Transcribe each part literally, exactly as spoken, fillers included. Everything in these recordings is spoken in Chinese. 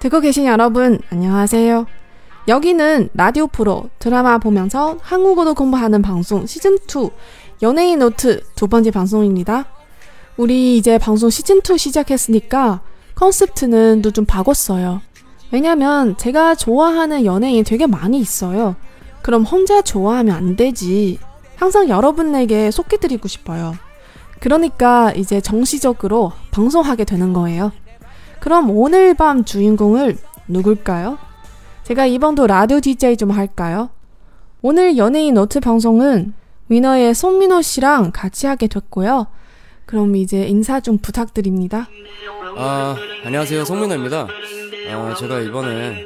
듣고 계신 여러분, 안녕하세요. 여기는 라디오 프로 드라마 보면서 한국어도 공부하는 방송 시즌이 연예인 노트 두 번째 방송입니다. 우리 이제 방송 시즌이 시작했으니까 컨셉트는 또 좀 바꿨어요. 왜냐면 제가 좋아하는 연예인 되게 많이 있어요. 그럼 혼자 좋아하면 안 되지. 항상 여러분에게 소개드리고 싶어요. 그러니까 이제 정식적으로 방송하게 되는 거예요. 그럼 오늘 밤 주인공을 누굴까요? 제가 이번도 라디오 디제이 좀 할까요? 오늘 연예인 노트 방송은 위너의 송민호 씨랑 같이 하게 됐고요. 그럼 이제 인사 좀 부탁드립니다. 아, 안녕하세요. 송민호입니다. 아, 제가 이번에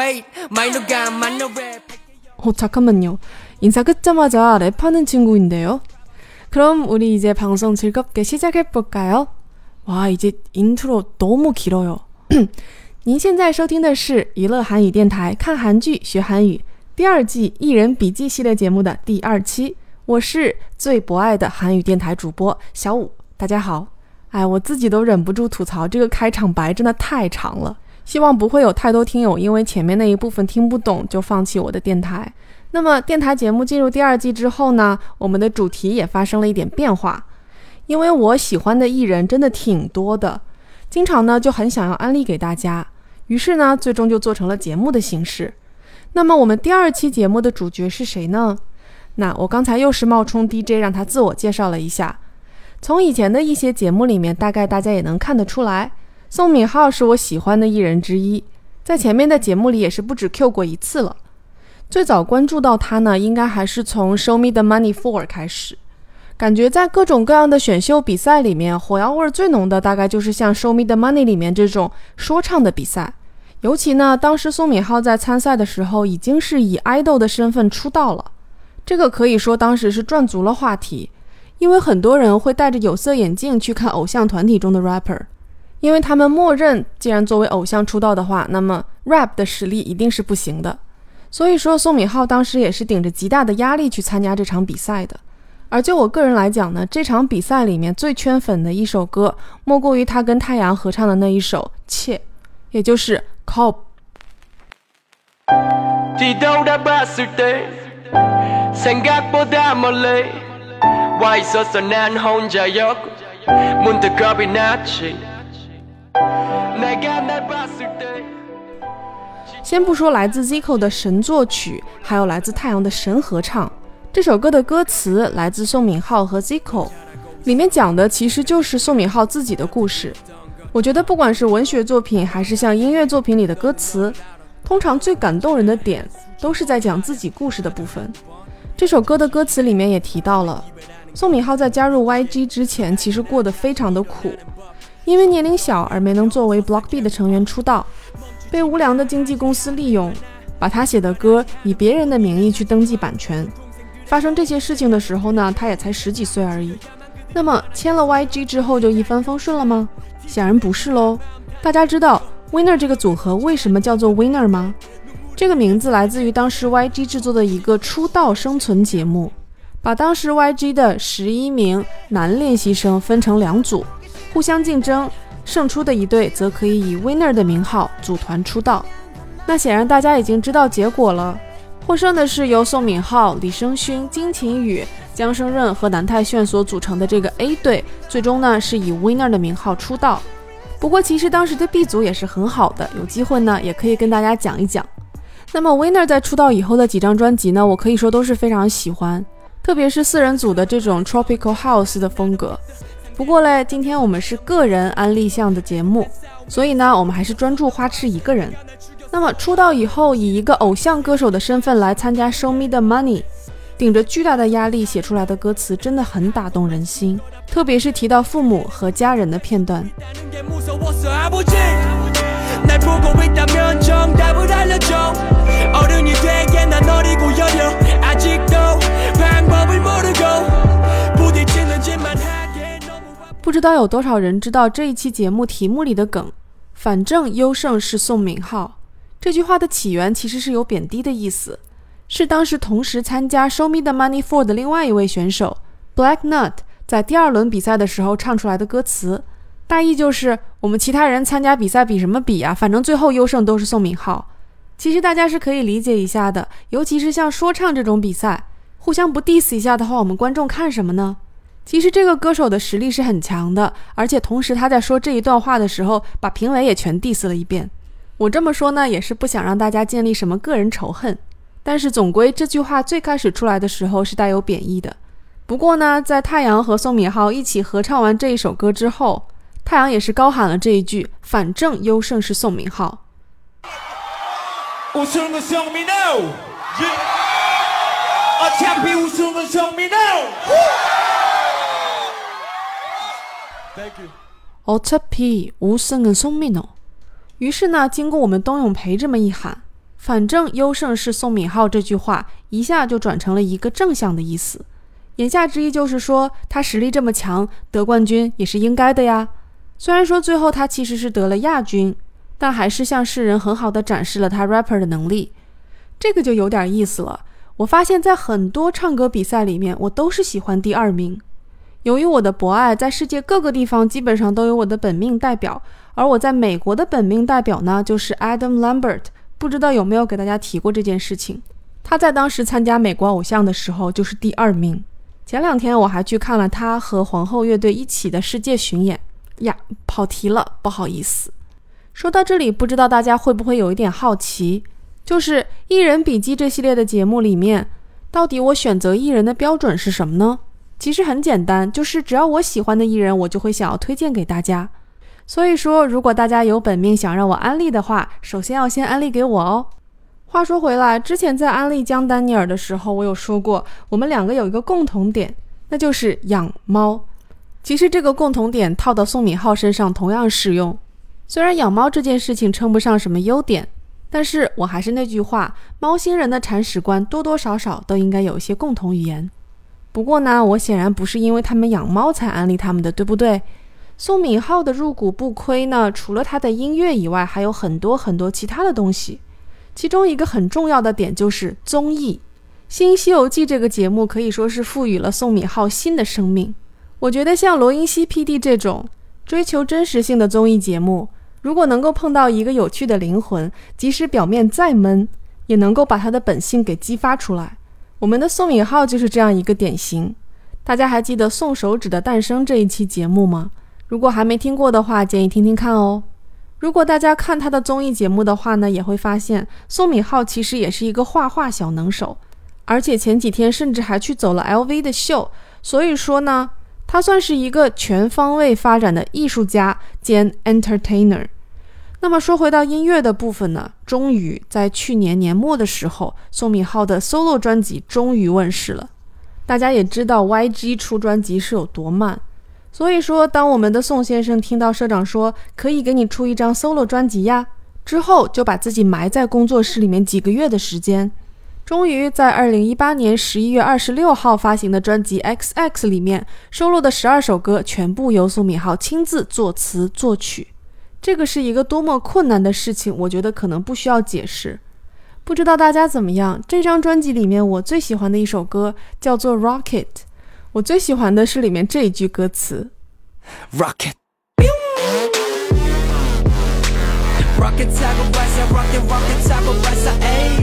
어, 잠깐만요. 인사 끝자마자 랩하는 친구인데요. 그럼 우리 이제 방송 즐겁게 시작해볼까요? 와, 이제 인트로 너무 길어요. 您现在收听的是娱乐韩语电台看韩剧学韩语第二季艺人笔记系列节目的第二期，我是最博爱的韩语电台主播小五，大家好。哎，我自己都忍不住吐槽，这个开场白真的太长了，希望不会有太多听友因为前面那一部分听不懂就放弃我的电台。那么电台节目进入第二季之后呢，我们的主题也发生了一点变化，因为我喜欢的艺人真的挺多的，经常呢就很想要安利给大家，于是呢最终就做成了节目的形式。那么我们第二期节目的主角是谁呢？那我刚才又是冒充 D J 让他自我介绍了一下。从以前的一些节目里面，大概大家也能看得出来，宋敏浩是我喜欢的艺人之一，在前面的节目里也是不止 Q 过一次了。最早关注到他呢，应该还是从 Show Me the Money four 开始，感觉在各种各样的选秀比赛里面，火药味最浓的大概就是像 Show Me the Money 里面这种说唱的比赛。尤其呢，当时宋敏浩在参赛的时候已经是以 idol 的身份出道了，这个可以说当时是赚足了话题，因为很多人会戴着有色眼镜去看偶像团体中的 rapper， 因为他们默认既然作为偶像出道的话，那么 rap 的实力一定是不行的。所以说宋敏浩当时也是顶着极大的压力去参加这场比赛的。而就我个人来讲呢，这场比赛里面最圈粉的一首歌莫过于他跟太阳合唱的那一首切，也就是 Cob。 先不说来自 Zico 的神作曲，还有来自太阳的神合唱，这首歌的歌词来自宋敏浩和 Zico， 里面讲的其实就是宋敏浩自己的故事。我觉得不管是文学作品还是像音乐作品里的歌词，通常最感动人的点都是在讲自己故事的部分。这首歌的歌词里面也提到了，宋敏浩在加入 Y G 之前其实过得非常的苦，因为年龄小而没能作为 Block B 的成员出道，被无良的经纪公司利用，把他写的歌以别人的名义去登记版权。发生这些事情的时候呢，他也才十几岁而已。那么签了 Y G 之后就一帆风顺了吗？显然不是咯。大家知道 Winner 这个组合为什么叫做 Winner 吗？这个名字来自于当时 Y G 制作的一个出道生存节目，把当时 Y G 的十一名男练习生分成两组，互相竞争，胜出的一队则可以以 Winner 的名号组团出道。那显然大家已经知道结果了，获胜的是由宋敏浩、李胜勋、金琴宇、姜胜任和南泰炫所组成的这个 A 队，最终呢是以 Winner 的名号出道。不过其实当时的 B 组也是很好的，有机会呢也可以跟大家讲一讲。那么 Winner 在出道以后的几张专辑呢，我可以说都是非常喜欢，特别是四人组的这种 Tropical House 的风格。不过嘞，今天我们是个人安利项的节目，所以呢我们还是专注花痴一个人。那么出道以后以一个偶像歌手的身份来参加 Show Me the Money， 顶着巨大的压力写出来的歌词真的很打动人心，特别是提到父母和家人的片段。不知道有多少人知道这一期节目题目里的梗，反正优胜是宋敏浩。这句话的起源其实是有贬低的意思，是当时同时参加 Show Me the Money four 的另外一位选手 Black Nut 在第二轮比赛的时候唱出来的歌词。 大意就是我们其他人参加比赛比什么比啊，反正最后优胜都是宋敏浩。其实大家是可以理解一下的，尤其是像说唱这种比赛，互相不 diss 一下的话，我们观众看什么呢？其实这个歌手的实力是很强的，而且同时他在说这一段话的时候，把评委也全 diss 了一遍。我这么说呢，也是不想让大家建立什么个人仇恨，但是总归这句话最开始出来的时候是带有贬义的。不过呢，在太阳和宋敏浩一起合唱完这一首歌之后，太阳也是高喊了这一句，反正优胜是宋敏浩。 우승은 성민호 어차피 우승은 성민호 어차피 우승은 송민호。 于是呢，经过我们冬永培这么一喊，反正优胜是宋敏浩这句话一下就转成了一个正向的意思，言下之意就是说他实力这么强，得冠军也是应该的呀。虽然说最后他其实是得了亚军，但还是向世人很好的展示了他 rapper 的能力。这个就有点意思了，我发现在很多唱歌比赛里面，我都是喜欢第二名。由于我的博爱在世界各个地方基本上都有我的本命代表，而我在美国的本命代表呢，就是 Adam Lambert。 不知道有没有给大家提过这件事情。他在当时参加美国偶像的时候就是第二名。前两天我还去看了他和皇后乐队一起的世界巡演呀，跑题了，不好意思。说到这里，不知道大家会不会有一点好奇，就是艺人笔记这系列的节目里面，到底我选择艺人的标准是什么呢？其实很简单，就是只要我喜欢的艺人，我就会想要推荐给大家。所以说，如果大家有本命想让我安利的话，首先要先安利给我哦。话说回来，之前在安利江丹尼尔的时候，我有说过，我们两个有一个共同点，那就是养猫。其实这个共同点套到宋敏浩身上同样适用。虽然养猫这件事情称不上什么优点，但是我还是那句话，猫星人的铲屎官多多少少都应该有一些共同语言。不过呢，我显然不是因为他们养猫才安利他们的，对不对？宋敏浩的入股不亏呢，除了他的音乐以外，还有很多很多其他的东西。其中一个很重要的点就是综艺。新西游记这个节目可以说是赋予了宋敏浩新的生命。我觉得像罗英熙 P D 这种追求真实性的综艺节目，如果能够碰到一个有趣的灵魂，即使表面再闷，也能够把他的本性给激发出来。我们的宋敏浩就是这样一个典型。大家还记得宋手指的诞生这一期节目吗？如果还没听过的话，建议听听看哦。如果大家看他的综艺节目的话呢，也会发现宋敏浩其实也是一个画画小能手，而且前几天甚至还去走了 L V 的秀。所以说呢，他算是一个全方位发展的艺术家兼 entertainer。 那么说回到音乐的部分呢，终于在去年年末的时候，宋敏浩的 solo 专辑终于问世了。大家也知道 Y G 出专辑是有多慢，所以说当我们的宋先生听到社长说可以给你出一张 solo 专辑呀，之后就把自己埋在工作室里面几个月的时间，终于在二零一八年十一月二十六号发行的专辑 X X 里面收录的十二首歌全部由宋敏浩亲自作词作曲。这个是一个多么困难的事情，我觉得可能不需要解释。不知道大家怎么样，这张专辑里面我最喜欢的一首歌叫做 Rocket。 我最喜欢的是里面这一句歌词 Rocket Rocket 타고 발사 Rocket Rocket 타고 발사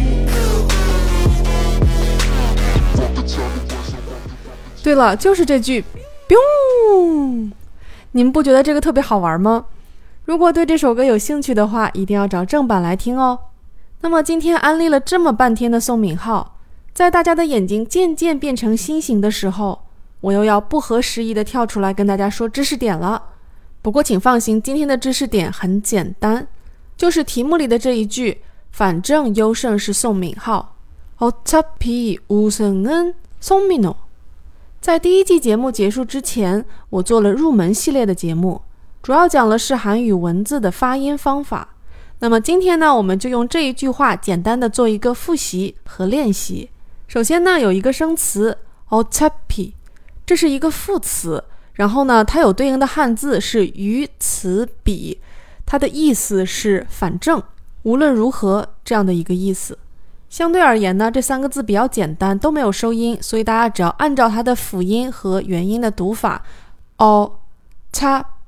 对了，就是这句 biu。 你们不觉得这个特别好玩吗？如果对这首歌有兴趣的话，一定要找正版来听哦。那么今天安利了这么半天的宋敏浩，在大家的眼睛渐渐变成心形的时候，我又要不合时宜的跳出来跟大家说知识点了。不过请放心，今天的知识点很简单，就是题目里的这一句，反正优胜是宋敏浩。어차피 우승은 송민호。在第一季节目结束之前，我做了入门系列的节目，主要讲的是韩语文字的发音方法。那么今天呢，我们就用这一句话简单的做一个复习和练习。首先呢，有一个生词 어차피， 这是一个副词，然后呢，它有对应的汉字是于此彼，它的意思是反正无论如何这样的一个意思。相对而言呢，这三个字比较简单，都没有收音，所以大家只要按照它的辅音和元音的读法 어차피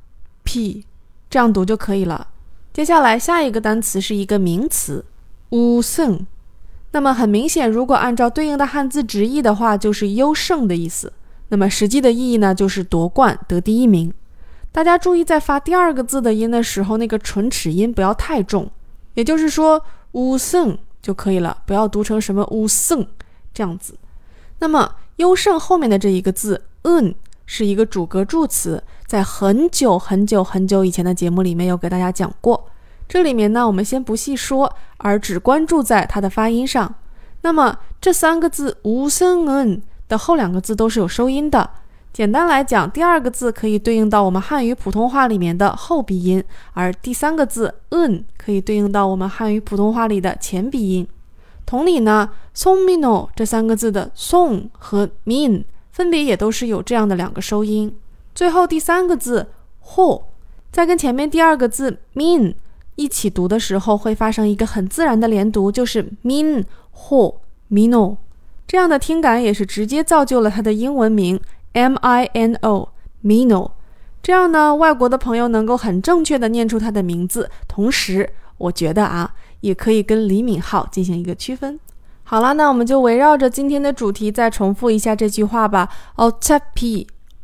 P 这样读就可以了。接下来下一个单词是一个名词우승，那么很明显，如果按照对应的汉字直译的话，就是优胜的意思。那么实际的意义呢，就是夺冠得第一名。大家注意在发第二个字的音的时候，那个唇齿音不要太重，也就是说우승就可以了，不要读成什么우승这样子。那么优胜后面的这一个字은是一个主格助词，在很久很久很久以前的节目里面有给大家讲过。这里面呢，我们先不细说，而只关注在它的发音上。那么这三个字우승은的后两个字都是有收音的。简单来讲，第二个字可以对应到我们汉语普通话里面的后鼻音，而第三个字은可以对应到我们汉语普通话里的前鼻音。同理呢，송민호这三个字的송和민分别也都是有这样的两个收音。最后第三个字호在跟前面第二个字민一起读的时候，会发生一个很自然的连读，就是민 호 민호。这样的听感也是直接造就了它的英文名 M I N O Mino。 这样呢，外国的朋友能够很正确的念出它的名字，同时我觉得啊，也可以跟李敏镐进行一个区分。好了，那我们就围绕着今天的主题再重复一下这句话吧。어차피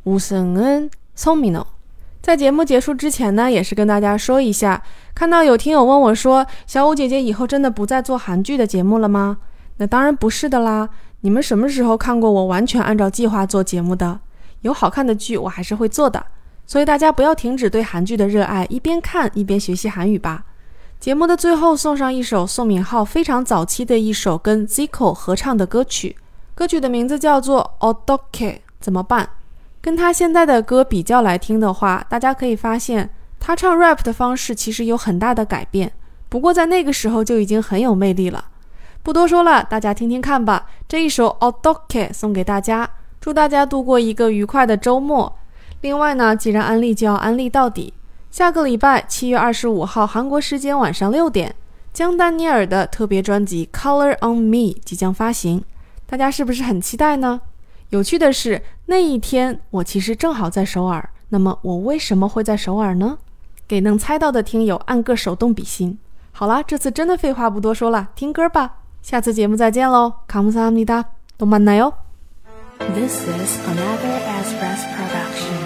우승은 송민호。在节目结束之前呢，也是跟大家说一下，看到有听友问我说，小五姐姐以后真的不再做韩剧的节目了吗？那当然不是的啦。你们什么时候看过我完全按照计划做节目的？有好看的剧我还是会做的，所以大家不要停止对韩剧的热爱，一边看一边学习韩语吧。节目的最后送上一首宋敏浩非常早期的一首跟 Zico 合唱的歌曲，歌曲的名字叫做 어떻게 怎么办。跟他现在的歌比较来听的话，大家可以发现他唱 rap 的方式其实有很大的改变，不过在那个时候就已经很有魅力了。不多说了，大家听听看吧。这一首 어떻게 送给大家，祝大家度过一个愉快的周末。另外呢，既然安利就要安利到底，下个礼拜七月二十五号韩国时间晚上六点，姜丹尼尔的特别专辑 Color on Me 即将发行，大家是不是很期待呢？有趣的是，那一天我其实正好在首尔。那么我为什么会在首尔呢？给能猜到的听友按个手动比心。好啦，这次真的废话不多说了，听歌吧。下次节目再见喽，감사합니다，또 만나요。 This is another Express production.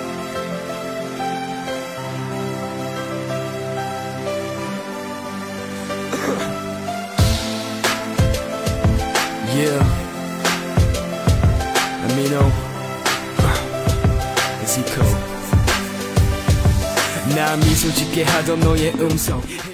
Yeah, Amino, Zico. 나 미소 짓게 하던 너의 음성